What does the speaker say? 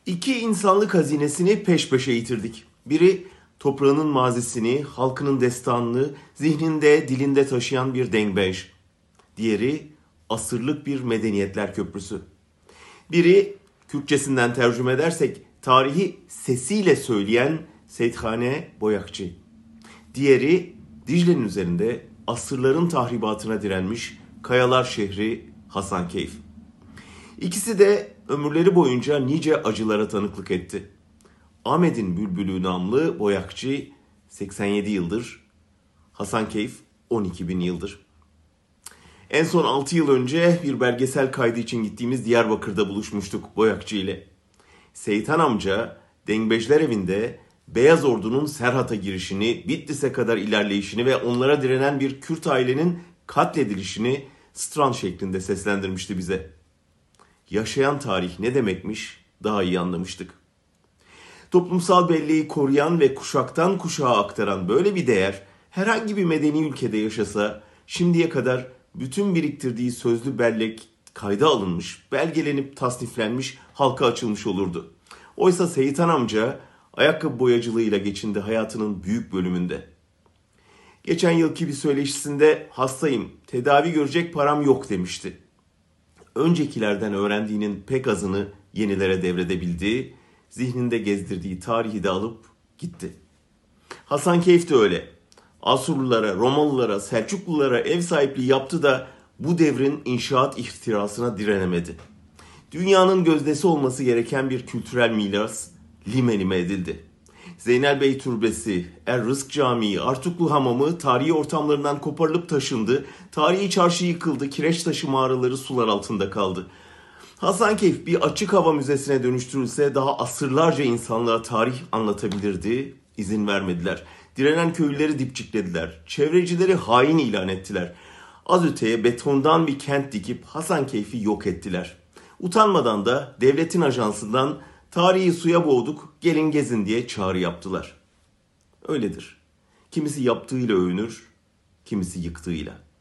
İki insanlık hazinesini peş peşe yitirdik. Biri toprağının mazisini, halkının destanını, zihninde, dilinde taşıyan bir dengbej. Diğeri asırlık bir medeniyetler köprüsü. Biri Kürtçesinden tercüme edersek tarihi sesiyle söyleyen Seythane Boyakçı. Diğeri Dicle'nin üzerinde asırların tahribatına direnmiş Kayalar şehri Hasankeyf. İkisi de ömürleri boyunca nice acılara tanıklık etti. Ahmet'in Bülbülü namlı Boyakçı 87 yıldır, Hasankeyf 12 bin yıldır. En son 6 yıl önce bir belgesel kaydı için gittiğimiz Diyarbakır'da buluşmuştuk Boyakçı ile. Seyitan amca Dengbejler evinde Beyaz Ordu'nun Serhat'a girişini, Bitlis'e kadar ilerleyişini ve onlara direnen bir Kürt ailenin katledilişini Strand şeklinde seslendirmişti bize. Yaşayan tarih ne demekmiş daha iyi anlamıştık. Toplumsal belleği koruyan ve kuşaktan kuşağa aktaran böyle bir değer herhangi bir medeni ülkede yaşasa şimdiye kadar bütün biriktirdiği sözlü bellek kayda alınmış, belgelenip tasniflenmiş, halka açılmış olurdu. Oysa Seyitan amca ayakkabı boyacılığıyla geçindi hayatının büyük bölümünde. Geçen yılki bir söyleşisinde hastayım, tedavi görecek param yok demişti. Öncekilerden öğrendiğinin pek azını yenilere devredebildi, zihninde gezdirdiği tarihi de alıp gitti. Hasankeyf de öyle. Asurlulara, Romalılara, Selçuklulara ev sahipliği yaptı da bu devrin inşaat ihtirasına direnemedi. Dünyanın gözdesi olması gereken bir kültürel miras lime lime edildi. Zeynel Türbesi, Er-Rızk Camii, Artuklu Hamamı tarihi ortamlarından koparılıp taşındı. Tarihi çarşı yıkıldı, Kireçtaşı mağaraları sular altında kaldı. Hasankeyf bir açık hava müzesine dönüştürülse daha asırlarca insanlığa tarih anlatabilirdi. İzin vermediler. Direnen köylüleri dipçiklediler. Çevrecileri hain ilan ettiler. Az öteye betondan bir kent dikip Hasankeyf'i yok ettiler. Utanmadan da devletin ajansından tarihi suya boğduk, gelin gezin diye çağrı yaptılar. Öyledir. Kimisi yaptığıyla övünür, kimisi yıktığıyla.